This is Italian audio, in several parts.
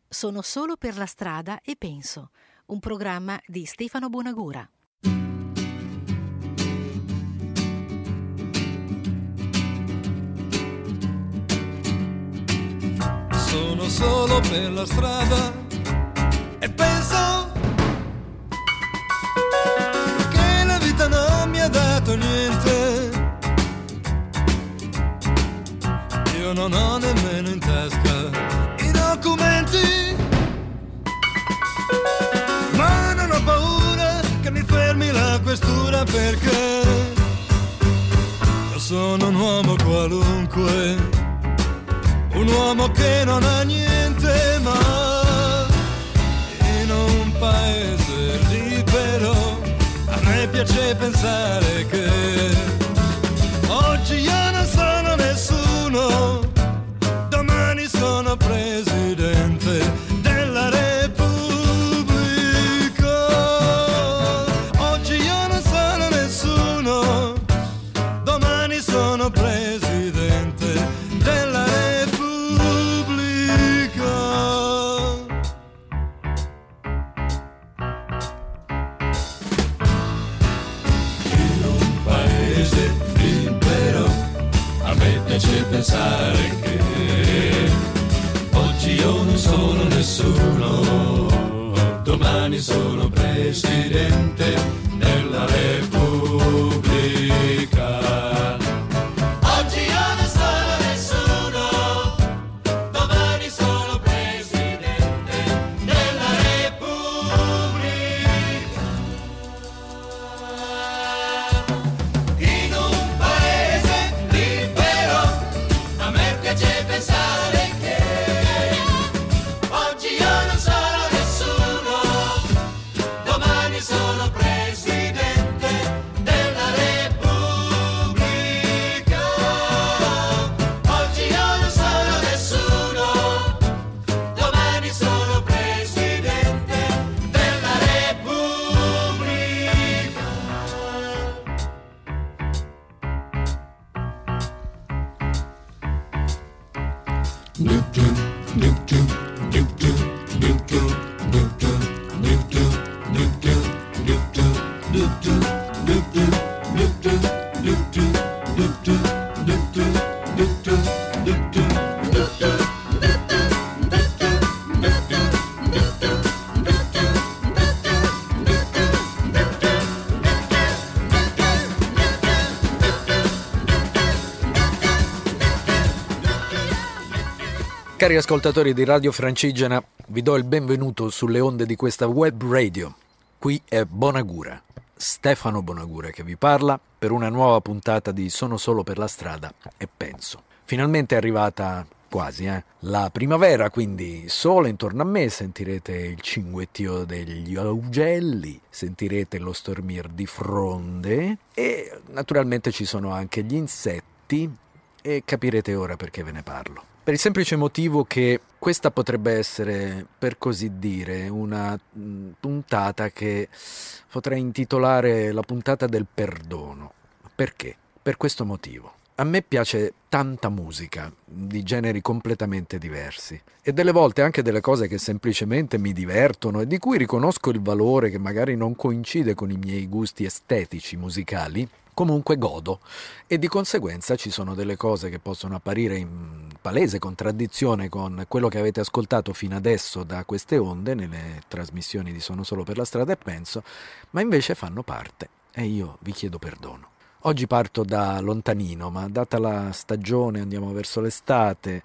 Sono solo per la strada e penso, un programma di Stefano Bonagura. Sono solo per la strada e penso che la vita non mi ha dato niente. Io non ho nemmeno in tasca i documenti, ma non ho paura che mi fermi la questura, perché io sono un uomo qualunque, un uomo che non ha niente, ma in un paese libero a me piace pensare che oggi io non sono nessuno, domani sono presidente della Repubblica. Oggi io non sono nessuno, domani sono presidente della Repubblica. In un paese libero a me piace pensare che oggi io non sono nessuno, domani sono presidente della Repubblica. Oggi io non sono nessuno, domani sono presidente della Repubblica. In un paese libero a me piace pensare che oggi io non sono nessuno, domani sono presidente della Repubblica. Oggi io non sono nessuno, domani sono presidente della Repubblica. Cari ascoltatori di Radio Francigena, vi do il benvenuto sulle onde di questa web radio. Qui è Bonagura, Stefano Bonagura che vi parla per una nuova puntata di Sono solo per la strada e penso. Finalmente è arrivata quasi, la primavera, quindi sole intorno a me, sentirete il cinguettio degli augelli, sentirete lo stormir di fronde e naturalmente ci sono anche gli insetti e capirete ora perché ve ne parlo. Per il semplice motivo che questa potrebbe essere, per così dire, una puntata che potrei intitolare la puntata del perdono. Perché? Per questo motivo. A me piace tanta musica, di generi completamente diversi, e delle volte anche delle cose che semplicemente mi divertono e di cui riconosco il valore che magari non coincide con i miei gusti estetici musicali, comunque godo, e di conseguenza ci sono delle cose che possono apparire in palese contraddizione con quello che avete ascoltato fino adesso da queste onde nelle trasmissioni di Sono solo per la strada e penso, ma invece fanno parte e io vi chiedo perdono. Oggi parto da lontanino, ma data la stagione andiamo verso l'estate.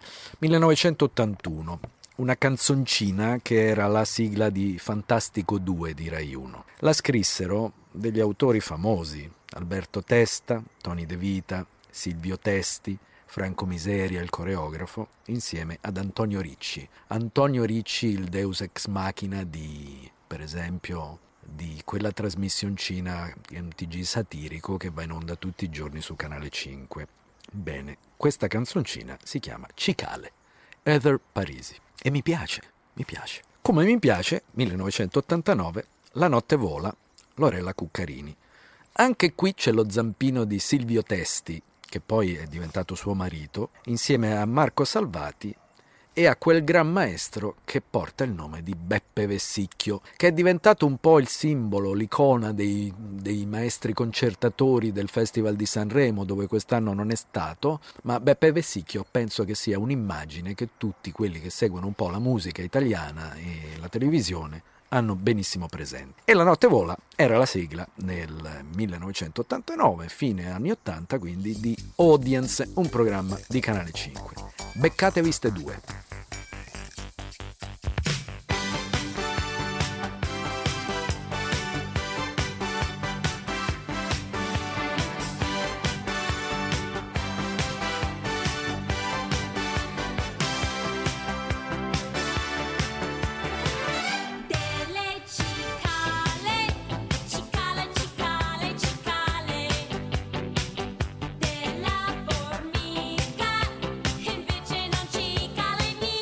1981, una canzoncina che era la sigla di Fantastico 2 di Rai 1. La scrissero degli autori famosi: Alberto Testa, Tony De Vita, Silvio Testi, Franco Miseria, il coreografo, insieme ad Antonio Ricci. Antonio Ricci, il deus ex machina di, per esempio, di quella trasmissioncina MTG satirico che va in onda tutti i giorni su Canale 5. Bene, questa canzoncina si chiama Cicale, Heather Parisi, e mi piace. Come mi piace, 1989, La notte vola, Lorella Cuccarini. Anche qui c'è lo zampino di Silvio Testi, che poi è diventato suo marito, insieme a Marco Salvati e a quel gran maestro che porta il nome di Beppe Vessicchio, che è diventato un po' il simbolo, l'icona dei maestri concertatori del Festival di Sanremo, dove quest'anno non è stato, ma Beppe Vessicchio penso che sia un'immagine che tutti quelli che seguono un po' la musica italiana e la televisione hanno benissimo presente. E La notte vola era la sigla nel 1989, fine anni 80, quindi di Audience, un programma di Canale 5. Beccatevi ste due. Della formica, invece non cicala in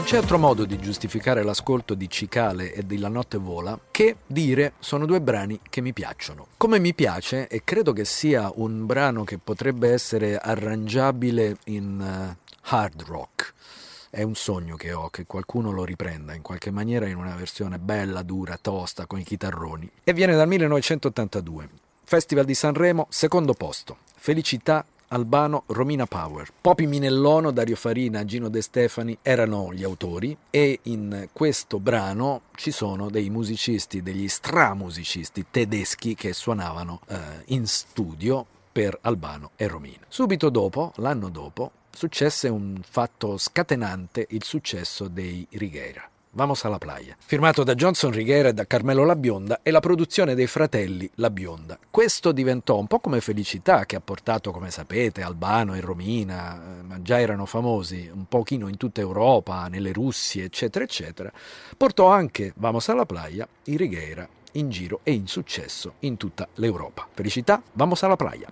c'è altro modo di giustificare l'ascolto di Cicale e di La notte vola che dire sono due brani che mi piacciono. Come mi piace, e credo che sia un brano che potrebbe essere arrangiabile in hard rock. È un sogno che ho, che qualcuno lo riprenda in qualche maniera in una versione bella, dura, tosta, con i chitarroni. E viene dal 1982. Festival di Sanremo, secondo posto. Felicità, Albano, Romina Power. Popi Minellono, Dario Farina, Gino De Stefani erano gli autori e in questo brano ci sono dei musicisti, degli stramusicisti tedeschi che suonavano in studio per Albano e Romina. Subito dopo, l'anno dopo, successe un fatto scatenante, il successo dei Righeira. Vamos alla playa. Firmato da Johnson Righeira e da Carmelo La Bionda e la produzione dei fratelli La Bionda. Questo diventò un po' come Felicità, che ha portato, come sapete, Albano e Romina, ma già erano famosi un pochino in tutta Europa, nelle Russie, eccetera, eccetera. Portò anche Vamos alla playa, i Righeira, in giro e in successo in tutta l'Europa. Felicità, Vamos alla playa.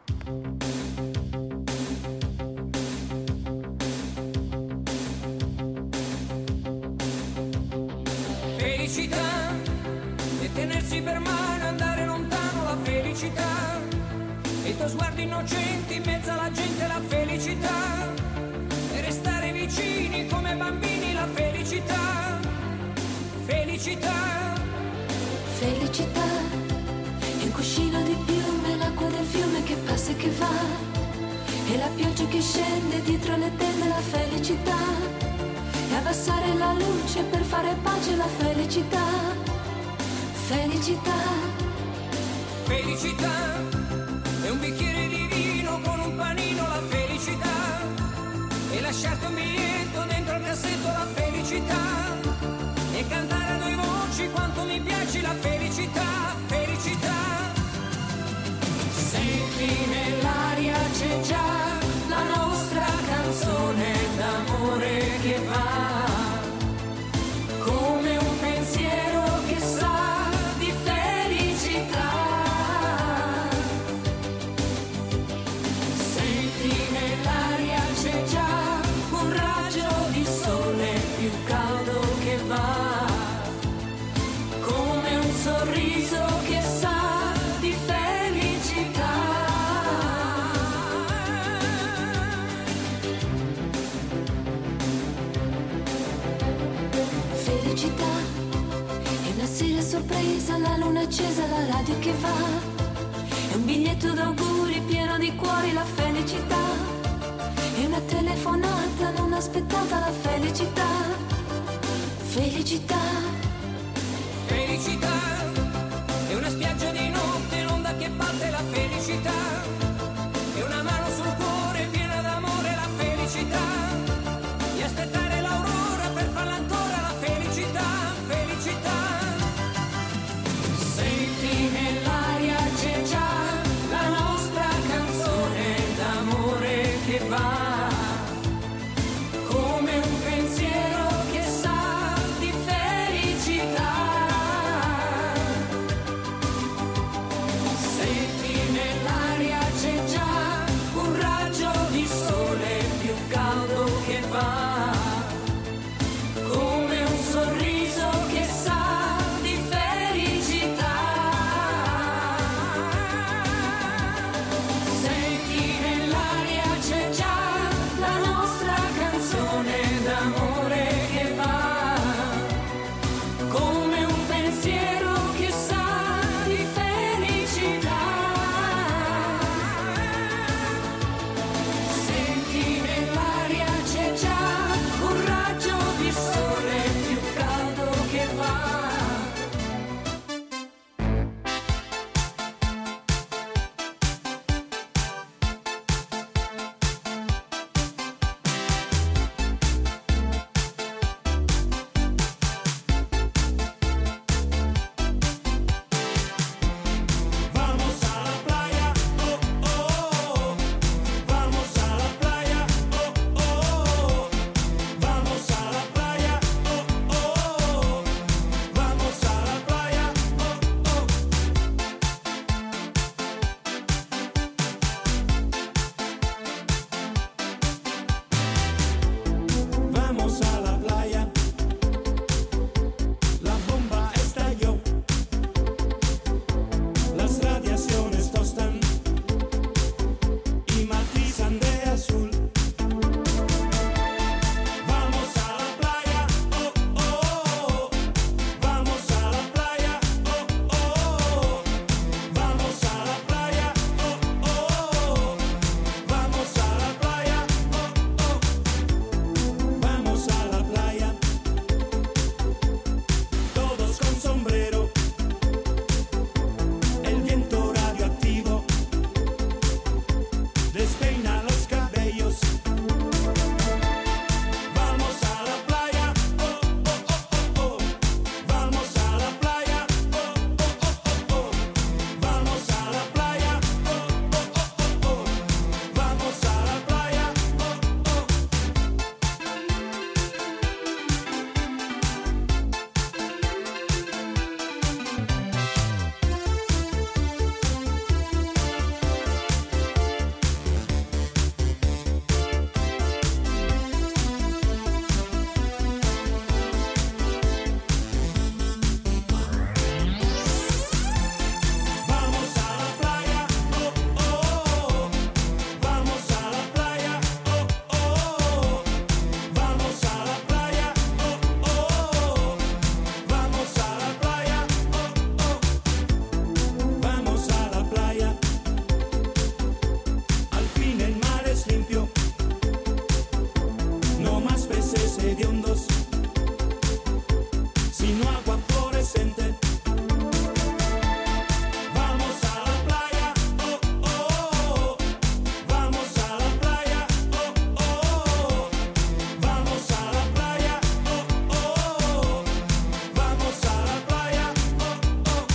Felicità e tenersi per mano, andare lontano, la felicità e i tuoi sguardi innocenti in mezzo alla gente, la felicità e restare vicini come bambini, la felicità. Felicità, felicità è un cuscino di piume, l'acqua del fiume che passa e che va e la pioggia che scende dietro le tende, la felicità. E abbassare la luce per fare pace, la felicità. Felicità. Felicità è un bicchiere di vino con un panino, la felicità. E lasciarti un biglietto dentro il cassetto, la felicità. E cantare a due voci quanto mi piace, la felicità. Felicità. Senti nell'aria c'è già la nostra canzone d'amore che va. Come un pensiero che sa di felicità. Senti nell'aria c'è già un raggio di sole più caldo che va. Come un sorriso che sa di felicità. Felicità è una sera sorpresa, la luna accesa, la radio che va. È un biglietto d'auguri pieno di cuori, la felicità. È una telefonata non aspettata, la felicità. Felicità. Felicità è una spiaggia di notte, l'onda che batte, la felicità. È una mano sul cuore piena d'amore, la felicità. E aspettare l'aurora per farla ancora, la felicità. Felicità. Senti nell'aria c'è già la nostra canzone d'amore che va. Come un pensiero che sa di felicità. Senti nell'aria c'è già un raggio di sole più caldo che va. Come un sorriso che sa di felicità. Senti nell'aria c'è già la nostra canzone d'amore che va. Come un pensiero che sa di felicità. Senti nell'aria c'è già hediondos, sino agua fluorescente. Vamos a la playa, oh, oh, oh. Vamos a la playa, oh, oh, oh. Vamos a la playa, oh, oh, oh. Vamos a la playa, oh, oh.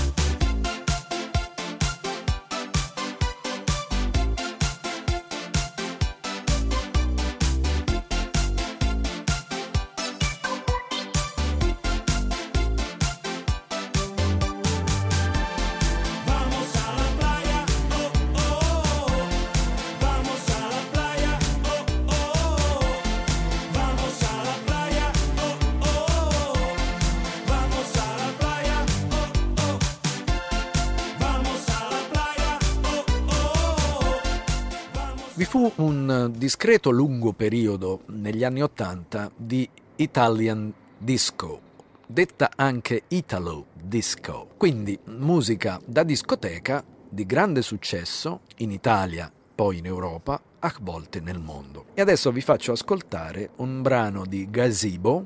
Vamos a la playa, oh, oh, oh. Vamos a la playa, oh, oh, oh. Vamos a la playa, oh, oh, oh. Vamos a la playa, oh, oh. Vamos a la playa, oh, oh. Vi fu un discreto lungo periodo negli anni '80 di Italian disco, detta anche Italo disco, quindi musica da discoteca di grande successo in Italia, poi in Europa, a volte nel mondo. E adesso vi faccio ascoltare un brano di Gazebo,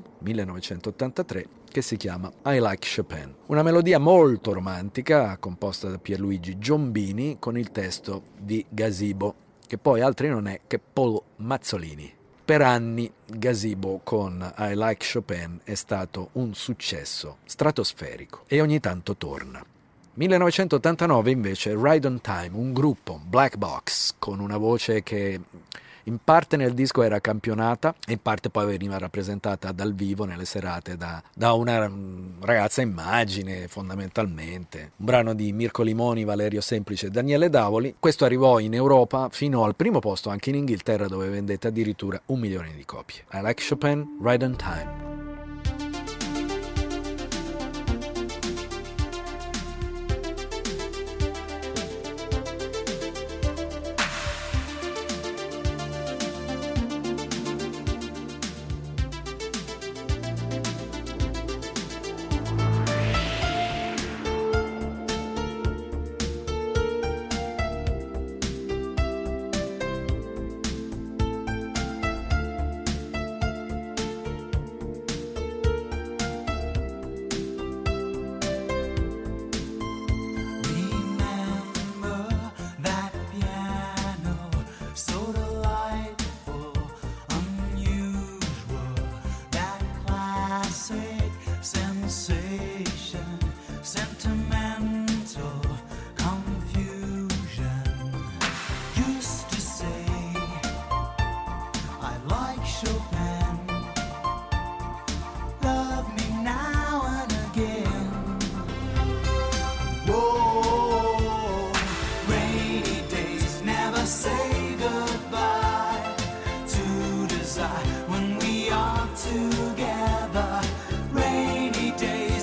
1983, che si chiama I Like Chopin. Una melodia molto romantica, composta da Pierluigi Giombini, con il testo di Gazebo, che poi altri non è che Paul Mazzolini. Per anni Gazebo con I Like Chopin è stato un successo stratosferico e ogni tanto torna. 1989 invece Ride on Time, un gruppo, Black Box, con una voce che in parte nel disco era campionata e in parte poi veniva rappresentata dal vivo nelle serate da una ragazza immagine, fondamentalmente. Un brano di Mirko Limoni, Valerio Semplice e Daniele Davoli. Questo arrivò in Europa fino al primo posto anche in Inghilterra, dove vendette addirittura 1 milione di copie. I Like Chopin, Ride on Time. When we are together, rainy days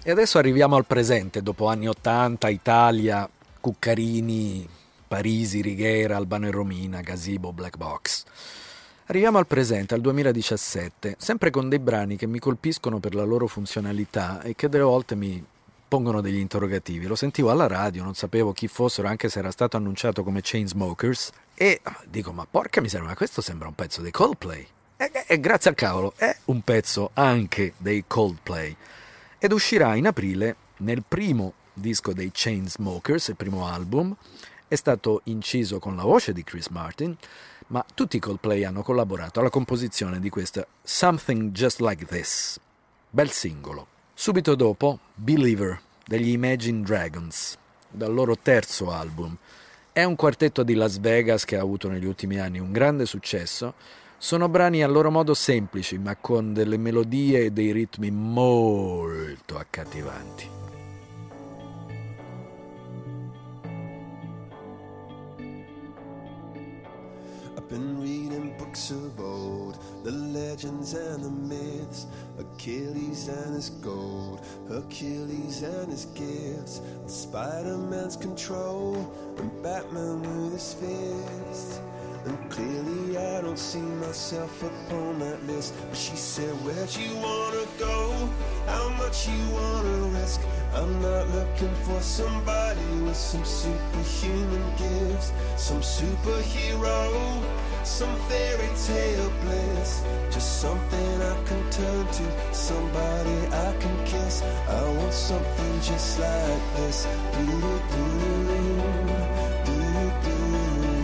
E adesso arriviamo al presente, dopo anni 80, Italia, Cuccarini, Parisi, Righiera, Albano e Romina, Gazebo, Black Box. Arriviamo al presente, al 2017, sempre con dei brani che mi colpiscono per la loro funzionalità e che delle volte mi pongono degli interrogativi. Lo sentivo alla radio, non sapevo chi fossero, anche se era stato annunciato come Chainsmokers, e dico, ma porca miseria, ma questo sembra un pezzo dei Coldplay. E grazie al cavolo, è un pezzo anche dei Coldplay. Ed uscirà in aprile nel primo disco dei Chainsmokers, il primo album. È stato inciso con la voce di Chris Martin, ma tutti i Coldplay hanno collaborato alla composizione di questa Something Just Like This. Bel singolo. Subito dopo, Believer degli Imagine Dragons, dal loro terzo album. È un quartetto di Las Vegas che ha avuto negli ultimi anni un grande successo. Sono brani a loro modo semplici, ma con delle melodie e dei ritmi molto accattivanti. I've been reading books of old, the legends and the myths, Achilles and his gold, Hercules and his gifts, Spider-Man's control, and Batman with his fist. And clearly I don't see myself upon that list. But she said, where'd you wanna go? How much you wanna risk? I'm not looking for somebody with some superhuman gifts, some superhero, some fairy tale bliss. Just something I can turn to, somebody I can kiss. I want something just like this. Do-do-do-do, do-do-do.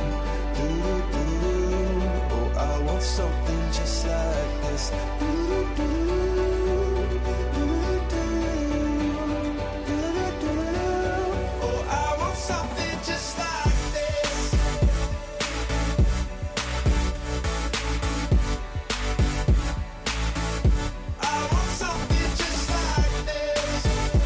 Oh, I want something just like this. Oh, I want something just like this. I want something just like this.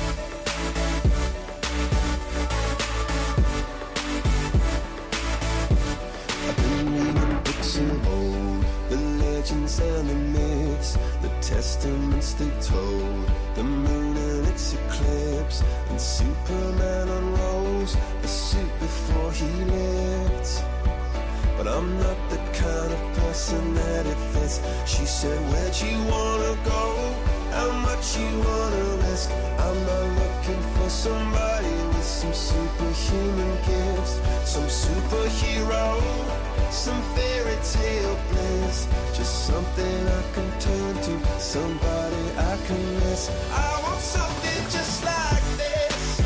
I've been reading books of old, the legends and the myths, the testaments they told, the moon and its eclipse, and Superman unrolls the suit before he lived. But I'm not the kind of person that it fits. She said, where'd you wanna go? How much you wanna risk? I'm not looking for somebody with some superhuman gifts, some superhero, some fairy tale bliss. Just something I can turn to, somebody I can miss. I want something just like this.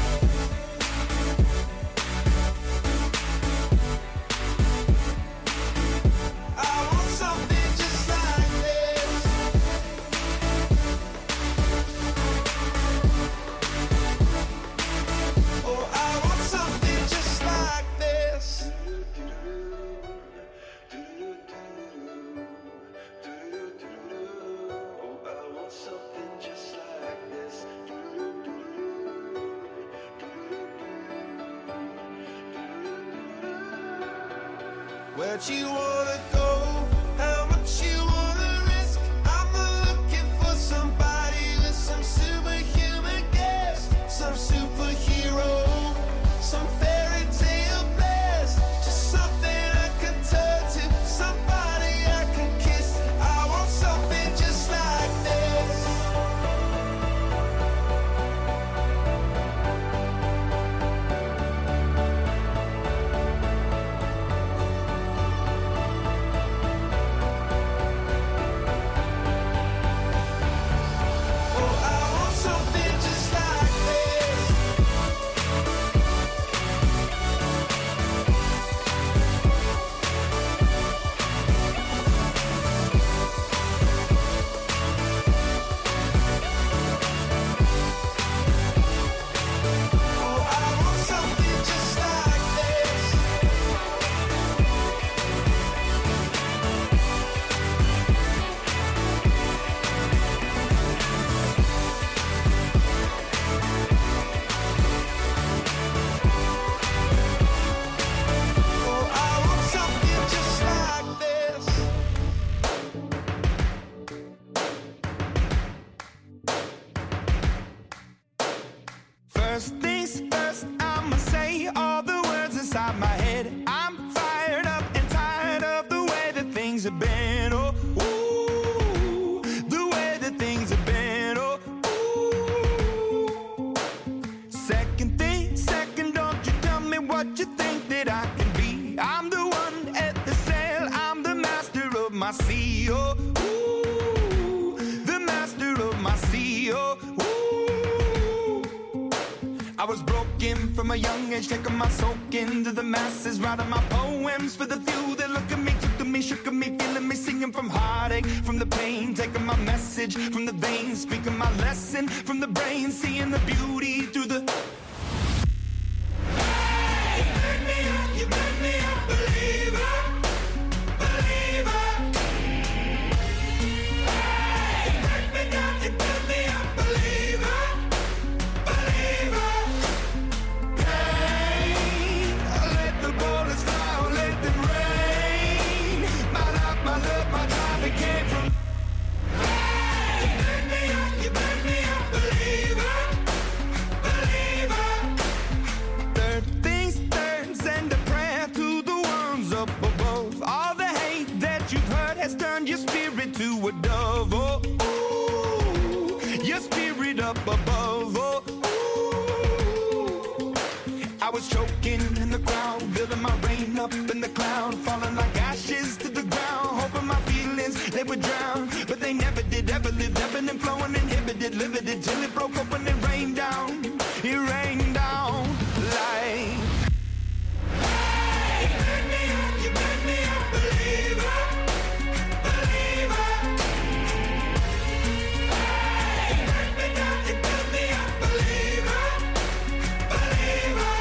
I want something just like this. Oh, I want something just like this. Oh, I want something just like this. Where'd you wanna go? How much you wanna risk? I'm not looking for somebody with some superhuman gifts, some superhero, some fairy tale bliss. Just something I can turn to, somebody I can kiss. I want something just like this. First things first, I'ma say all the words inside my head. I'm fired up and tired of the way that things have been. Oh, ooh, the way that things have been. Oh, ooh. Second thing, second, don't you tell me what you think that I can be. I'm the one at the sail, I'm the master of my sea. Oh, ooh, the master of my sea. Oh, ooh. I was broken from a young age, taking my soak into the masses, writing my poems for the few that look at me, took to me, shook at me, feeling me, singing from heartache, from the pain, taking my message from the veins, speaking my lesson from the brain, seeing the beauty through the... Hey, you make me a believer, believer. Hey, you break me down, you make me a believer, believer. Pain, let the bullets fly, let them rain. My life, my love, my drive, it came from... Hey, you make me a believer, believer. Third things third, send a prayer to the ones up above. All the hate that you've heard has turned your spirit to a dove. Oh, ooh, your spirit up above. Oh, ooh. I was choking in the crowd, building my rain up in the cloud, falling like ashes to the ground, hoping my feelings, they would drown. But they never did, ever lived, ebbing and flowing, inhibited, limited, till it broke up when it rained down. It rained down like... Hey, you make me a believer, believer. Hey, you break me down, you make me a believer, believer.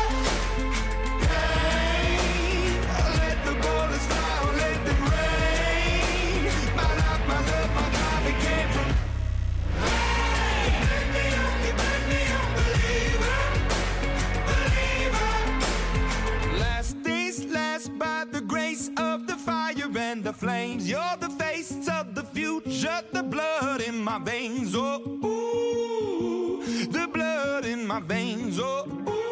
Pain, let the bullets fly, let them rain. My life, my love, my drive, it came from... Hey, you make me a believer, believer. Last things last, by the grace of the fire and the flames. You're the face of the future, the blood in my veins. Oh, ooh, the blood in my veins. Oh,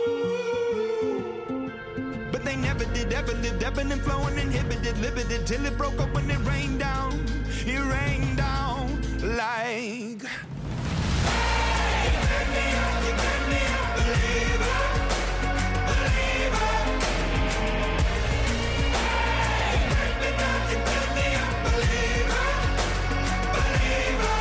ooh. But they never did, ever lived, ebbing and flowing, inhibited, limited, till it broke up when it rained down. It rained down like... Hey, you make me a believer, believer. Hey, you break me down, you make me a believer, believer.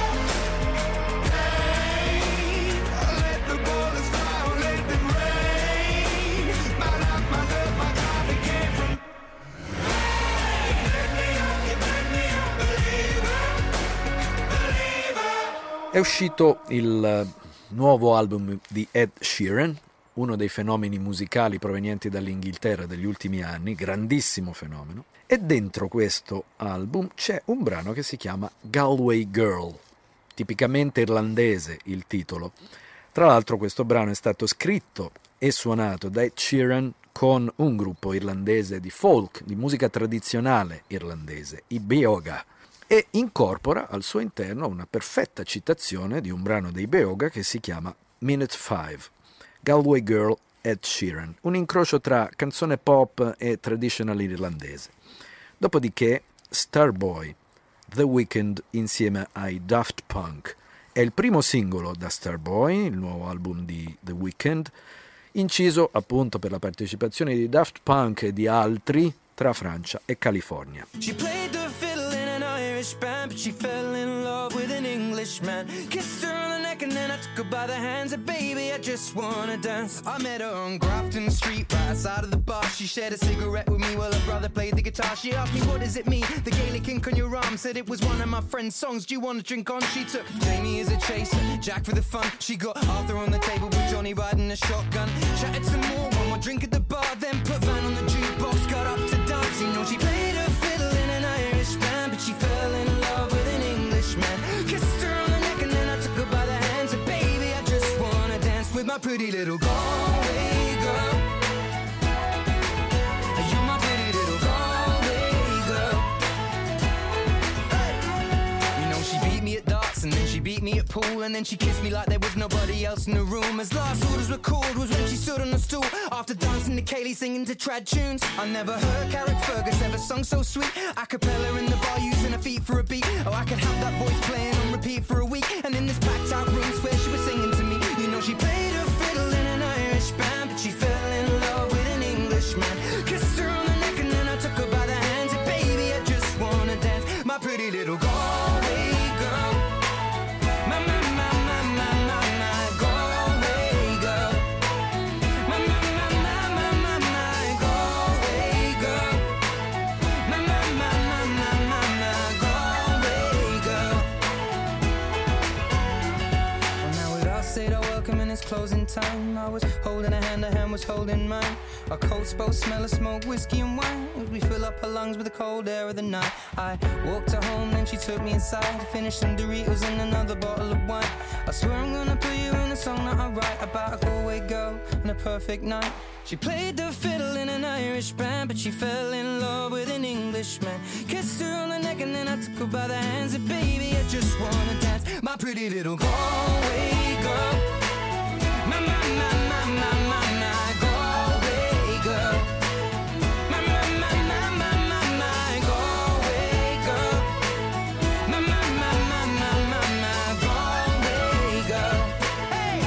Pain, let the bullets fly, let them rain. My life, my love, my drive, it came from... Hey, you make me a believer, believer. È uscito il nuovo album di Ed Sheeran, uno dei fenomeni musicali provenienti dall'Inghilterra degli ultimi anni, grandissimo fenomeno, e dentro questo album c'è un brano che si chiama Galway Girl, tipicamente irlandese il titolo. Tra l'altro questo brano è stato scritto e suonato da Ed Sheeran con un gruppo irlandese di folk, di musica tradizionale irlandese, i Beoga, e incorpora al suo interno una perfetta citazione di un brano dei Beoga che si chiama Minute 5, Galway Girl, Ed Sheeran, un incrocio tra canzone pop e traditional irlandese. Dopodiché Starboy, The Weeknd insieme ai Daft Punk, è il primo singolo da Starboy, il nuovo album di The Weeknd, inciso appunto per la partecipazione di Daft Punk e di altri tra Francia e California. She played the fiddle in an Irish band, but she fell in love with an Englishman. Kissed her on the neck and then I took her by the hands. And baby, I just wanna dance. I met her on Grafton Street, right outside of the bar. She shared a cigarette with me while her brother played the guitar. She asked me, what does it mean? The Gaelic ink on your arm. Said it was one of my friend's songs. Do you want to drink on? She took Jamie as a chaser, Jack for the fun. She got Arthur on the table with Johnny riding a shotgun. Chatted some more, one more drink at the bar, then put Van on the jukebox. Got up to dance, you know she played her fiddle in an Irish band, but she fell in love with an Englishman. Kissed her on the neck and then I took her by the hands. And baby, I just wanna dance with my pretty little Galway girl. You're my pretty little Galway girl. Hey. You know she beat me at darts and then she beat me at pool, and then she kissed me like there was nobody else in the room. As last orders were called, Kaylee singing to trad tunes. I never heard Carrick Fergus ever sung so sweet. A cappella in the bar using her feet for a beat. Oh, I could have that voice playing on repeat for a week. And in this packed out room, swear she was singing to me. You know she played her fiddle in an Irish band, but she fell in love with an Englishman. Kissed her on the neck and then I took her by the hands. And baby, I just wanna dance. My pretty little Galway girl. My, my, my, my, my, my, my Galway girl. My, my, my, my, my, my, my Galway girl. My, my, my, my, my, my, my Galway girl. Well, now we'd all said our welcome and it's closing time. I was holding her hand was holding mine. Our coats both smell of smoke, whiskey and wine. As we fill up her lungs with the cold air of the night. I walked her home, then she took me inside. Finished some Doritos and another bottle of wine. I swear I'm gonna put you in a song that I write about a Galway girl and a perfect night. She played the fiddle in an Irish band, but she fell in love with an Englishman. Kissed her on the neck and then I took her by the hands. And baby, I just wanna dance. My pretty little Galway girl. My, my, my, my, my, my, my Galway girl. My, my, my, my, my, my, my Galway girl. My, my, my, my, my, my, my Galway girl. Hey!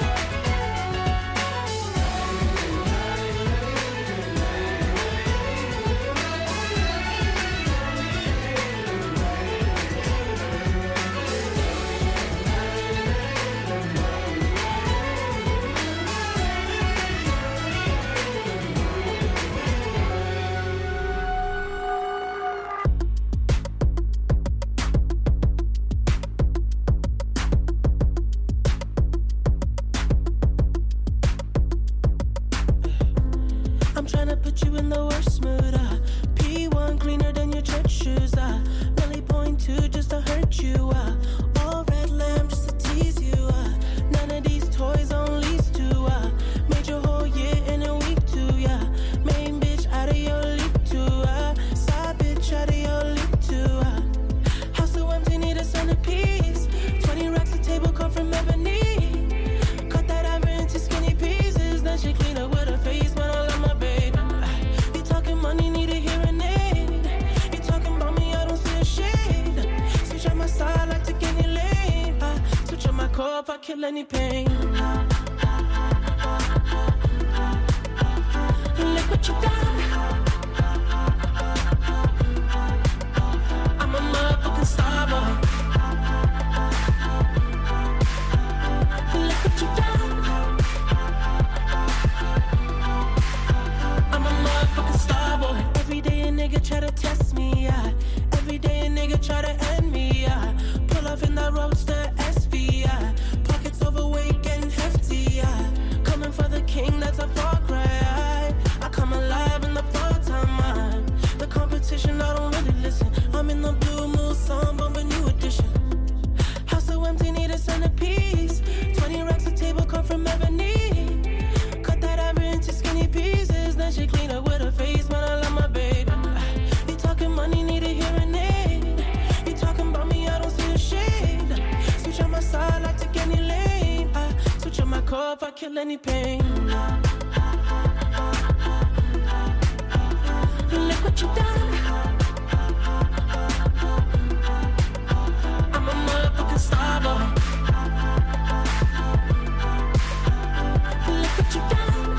I'm tryna put you in the worst mood. P1 cleaner than your church shoes. Really point two just to hurt you. All red lamb just to tease you. None of these toys on lease to. Made your whole year in a week too. Yeah, main bitch out of your league too. Side bitch out of your league too. House so empty, need a centerpiece. 20 racks of table come from ebony. Cut that ever into skinny pieces. Then she clean up with her face, man. I love my baby. You talking money, need a hearing aid. You talking about me, I don't see a shade. Switch on my side, like take any lane. Switch on my core if I kill any pain. Look what you done. I'm a motherfucking star boy. Look what you done. I'm a motherfucking star boy. Every day a nigga try to test me, yeah. Every day a nigga try to end me, yeah. Pull off in that roadster SV, yeah. Pockets overweight, getting hefty, yeah. Coming for the king, that's a far cry. I come alive in the fall time, the competition, I don't really listen. I'm in the blue moon, song, bumping new edition. House so empty, need a centerpiece. 20 racks of table come from ebony. Cut that ever into skinny pieces. Then she clean up with her face, man, I love my baby. You talking money, need a hearing aid. You talking about me, I don't see a shade. Switch on my side, I take any lane. Switch on my core if I kill any pain. Look what you done. I'm a motherfucking star boy. Look what you done.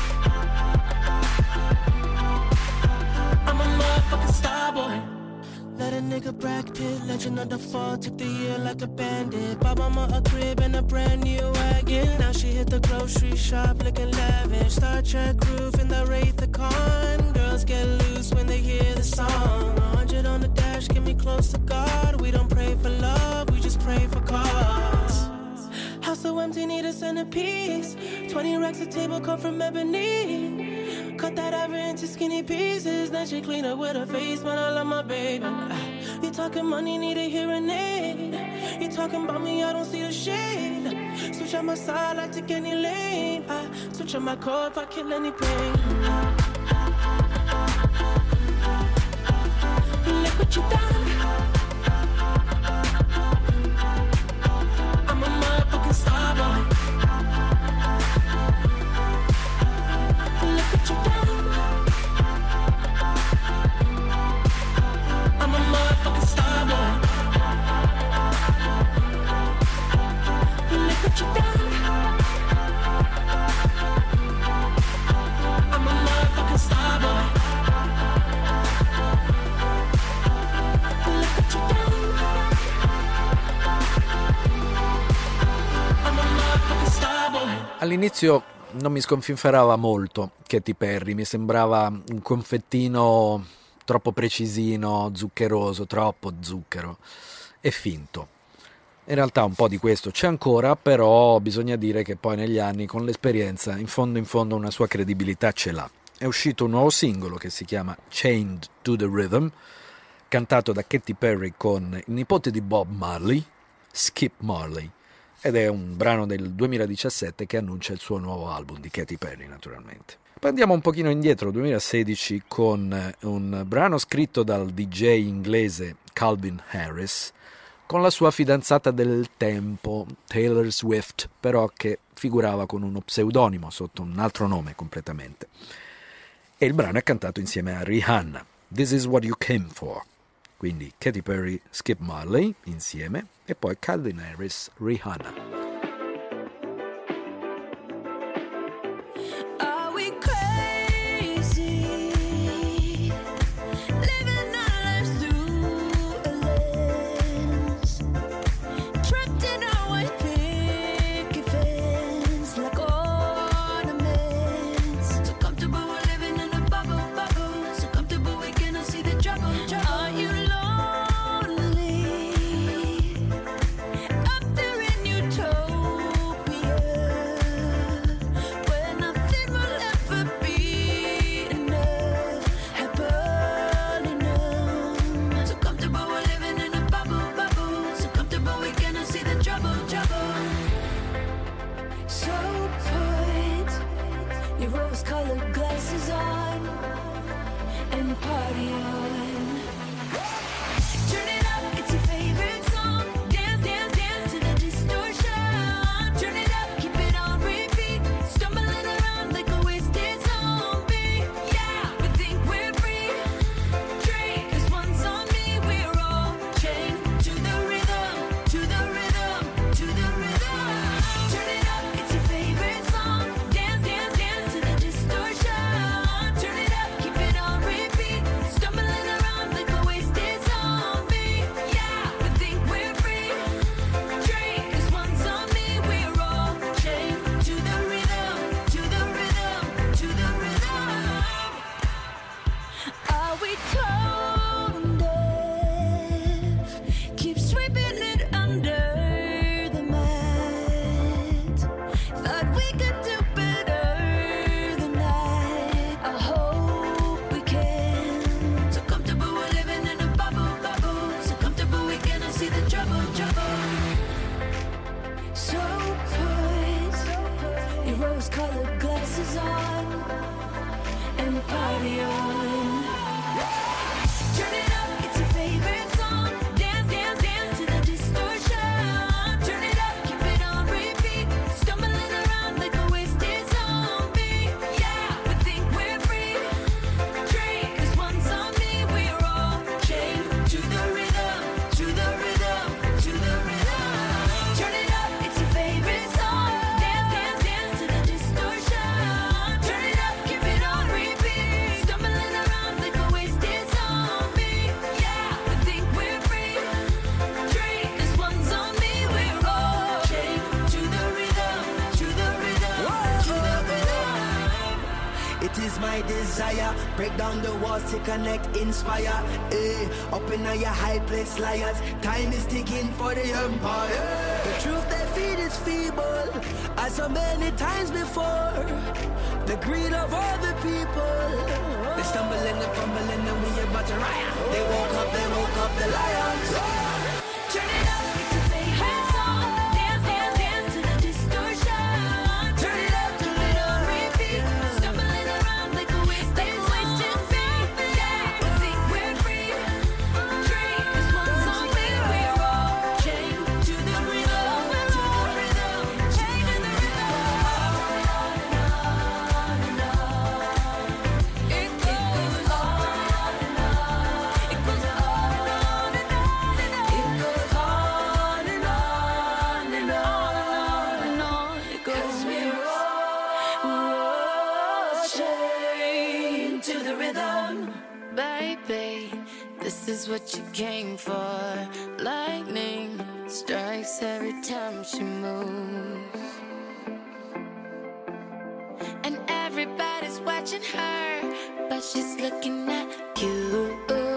I'm a motherfucking star boy. Let a nigga Brad Pitt, legend of the fall, took the year like a bandit. Bought mama a crib and a brand new wagon. Now she hit the grocery shop looking lavish. Star Trek roof in the Wraith the Con. Girls get loose when they hear the song. 100 on the dash, get me close to God. We don't pray for love, we just pray for cause. House so empty, need a centerpiece. 20 racks of table come from ebony. Cut that ever into skinny pieces. Then she clean up with her face, man, I love my baby. You talking money, need a hearing aid. You talking about me, I don't see the shade. Switch on my side, I take any lane. Switch on my core if I kill any pain. Look what you done. I'm a motherfucking star boy. Look what you All'inizio non mi sconfinferava molto Katy Perry, mi sembrava un confettino troppo precisino, zuccheroso, troppo zucchero e finto. In realtà un po' di questo c'è ancora, però bisogna dire che poi negli anni, con l'esperienza, in fondo una sua credibilità ce l'ha. È uscito un nuovo singolo che si chiama Chained to the Rhythm, cantato da Katy Perry con il nipote di Bob Marley, Skip Marley, ed è un brano del 2017 che annuncia il suo nuovo album di Katy Perry, naturalmente. Poi andiamo un pochino indietro, 2016, con un brano scritto dal DJ inglese Calvin Harris, con la sua fidanzata del tempo, Taylor Swift, però che figurava con uno pseudonimo sotto un altro nome completamente. E il brano è cantato insieme a Rihanna, This Is What You Came For. Quindi Katy Perry, Skip Marley insieme e poi Calvin Harris, Rihanna. Are we crazy? Living our lives through a lens, trapped in our white picket fence like ornaments. So comfortable we're living in a bubble, so comfortable we cannot see the trouble. Are you lonely up there in utopia, where nothing will ever be enough, happily numb? So comfortable we're living in a bubble, so comfortable we cannot see the trouble. So put your rose-colored glasses on and party on. Turn it up, it's your favorite song. Dance, dance, dance to the distortion. Turn it up, keep it on repeat. Stumbling around like a wasted zombie. Yeah, we think we're free. Drink, 'cause one's on me. We're all chained to the rhythm, to the rhythm, to the rhythm. Turn it up, it's your favorite song. Dance, dance, dance to the distortion. Turn it up, keep it on repeat. Stumbling around like a wasted zombie. Yeah, we think we're free. Drink, 'cause one's on me. We're all chained to the rhythm, to the rhythm, to the rhythm. Are we tone deaf? Keep sweeping it under the mat. Thought we could do better than that. I hope we can. So comfortable we're living in a bubble, so comfortable we cannot see the trouble. So put your rose-colored glasses on and party on. Turn it up, it's your favorite song. Dance, dance, dance to the distortion. Turn it up, keep it on repeat. Stumbling around like a wasted zombie. Yeah, we think we're free. Drink, 'cause one's on me. We're all chained to the rhythm, to the rhythm, to the rhythm. Turn it up, it's your favorite song. Dance, dance, dance to the distortion. Turn it up, keep it on repeat. Stumbling around like a wasted zombie. Yeah, we think we're free. Drink, 'cause one's on me. We're all chained to the rhythm, to the rhythm, to the rhythm. It is my desire, break down the walls to connect, inspire. Up in your high place, liars. Time is ticking for the empire. The truth they feed is feeble, as so many times before. The greed of all the people. They stumble and they fumble and then we about to riot. They woke up the lions. Turn it up, it's your favorite song. Dance, dance, dance to the distortion. Turn it up, keep it on repeat. Stumbling around like a wasted zombie. Yeah, we think we're free. Drink, 'cause one's on me. We're all chained to the rhythm, to the rhythm, chained to the rhythm. It goes on and on. It goes on and on and on and on. It goes on and on and on and on. It goes. 'Cause we're all chained to the rhythm. Baby, this is what you came for. Lightning strikes every time she moves. watching her, but she's looking at you.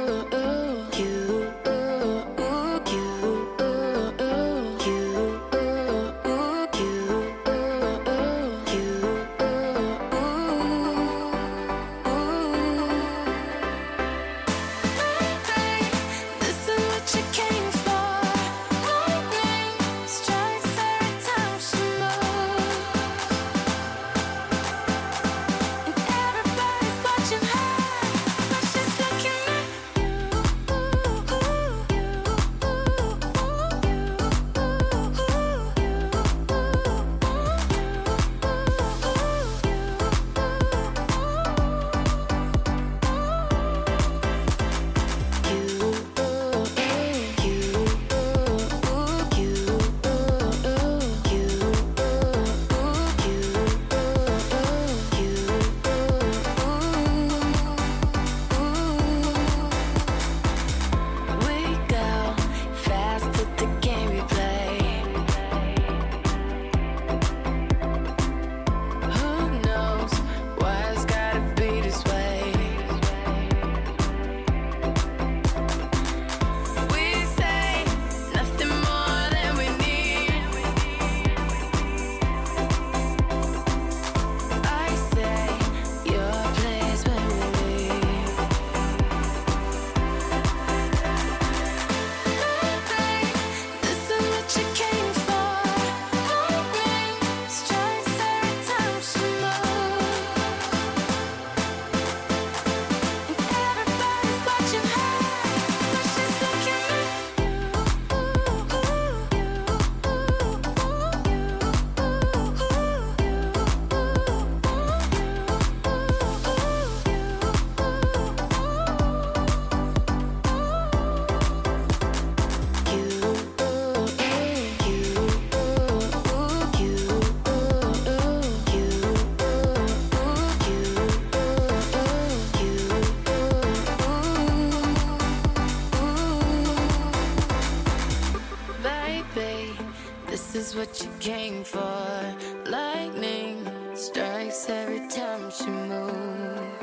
What you came for. Lightning strikes every time she moves.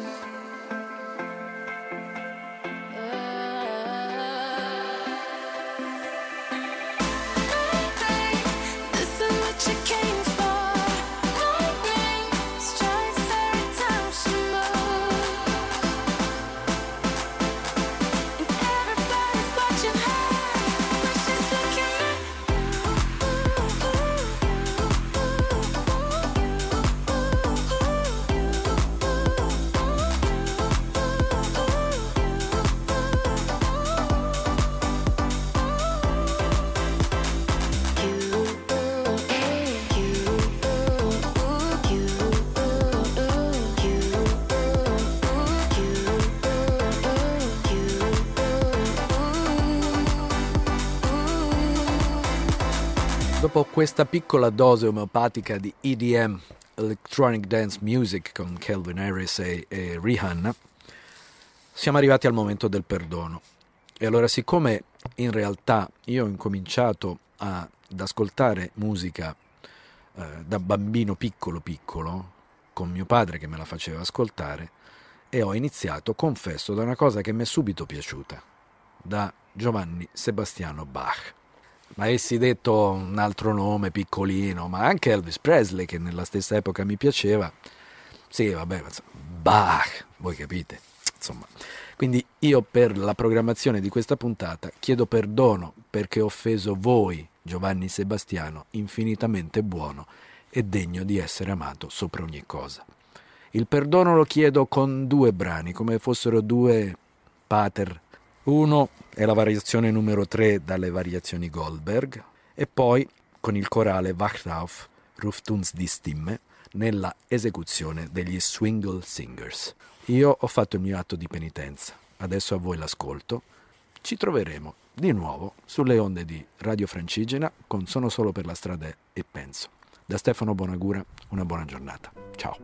This is what you came for. Lightning strikes every time she moves. And everybody's watching her, but she's looking at Dopo questa piccola dose omeopatica di EDM, Electronic Dance Music, con Calvin Harris e Rihanna, siamo arrivati al momento del perdono. E allora, siccome in realtà io ho incominciato ad ascoltare musica da bambino piccolo, con mio padre che me la faceva ascoltare, e ho iniziato, confesso, da una cosa che mi è subito piaciuta, da Giovanni Sebastiano Bach. Ma essi detto un altro nome piccolino, ma anche Elvis Presley, che nella stessa epoca mi piaceva. Sì, vabbè, Bach, voi capite, insomma. Quindi io, per la programmazione di questa puntata, chiedo perdono perché ho offeso voi, Giovanni Sebastiano, infinitamente buono e degno di essere amato sopra ogni cosa. Il perdono lo chiedo con 2 brani, come fossero 2 pater. Uno è la variazione numero 3 dalle variazioni Goldberg, e poi con il corale Wacht auf, ruft uns die Stimme, nella esecuzione degli Swingle Singers. Io ho fatto il mio atto di penitenza, adesso a voi l'ascolto. Ci troveremo di nuovo sulle onde di Radio Francigena con Sono solo per la strada e penso. Da Stefano Bonagura, una buona giornata. Ciao.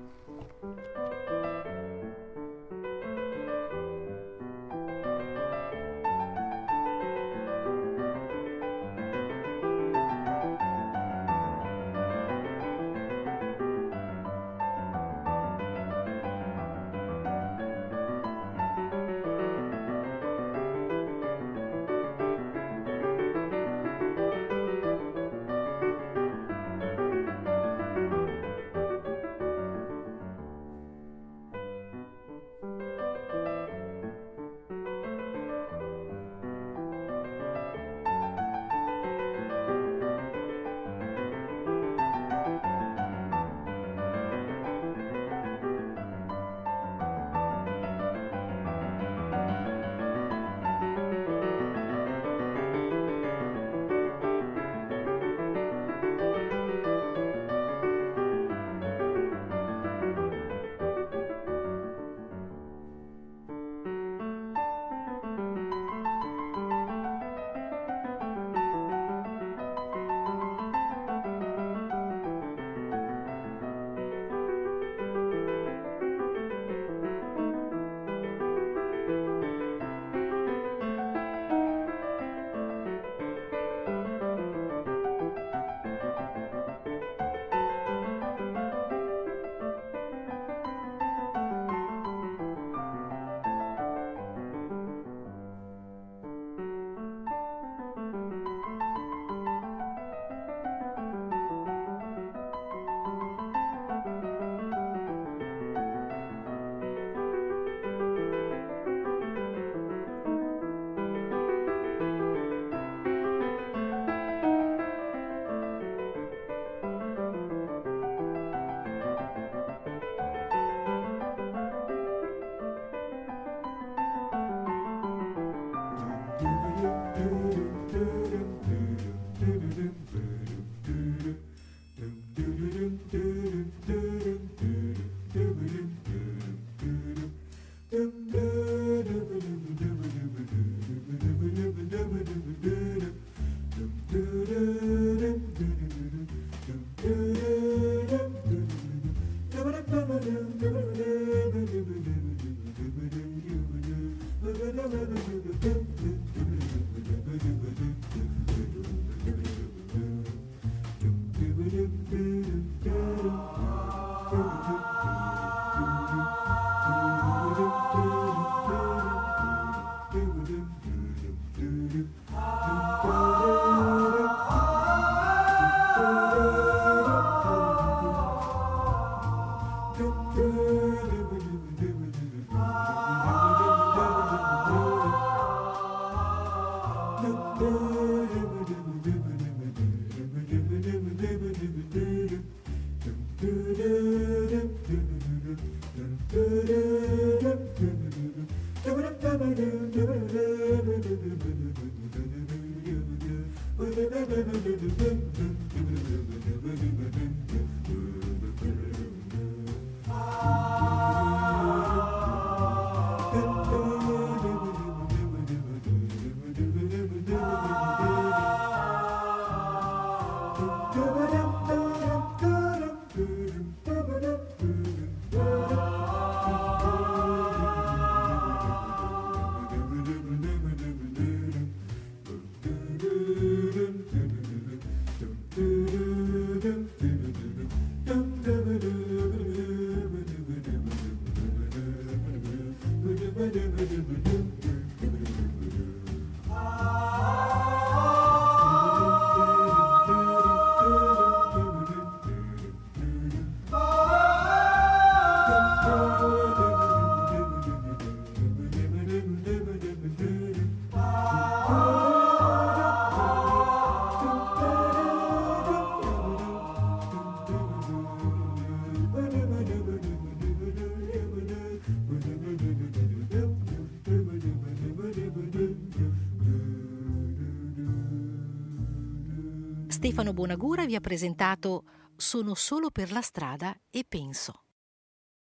Stefano Bonagura vi ha presentato Sono solo per la strada e penso.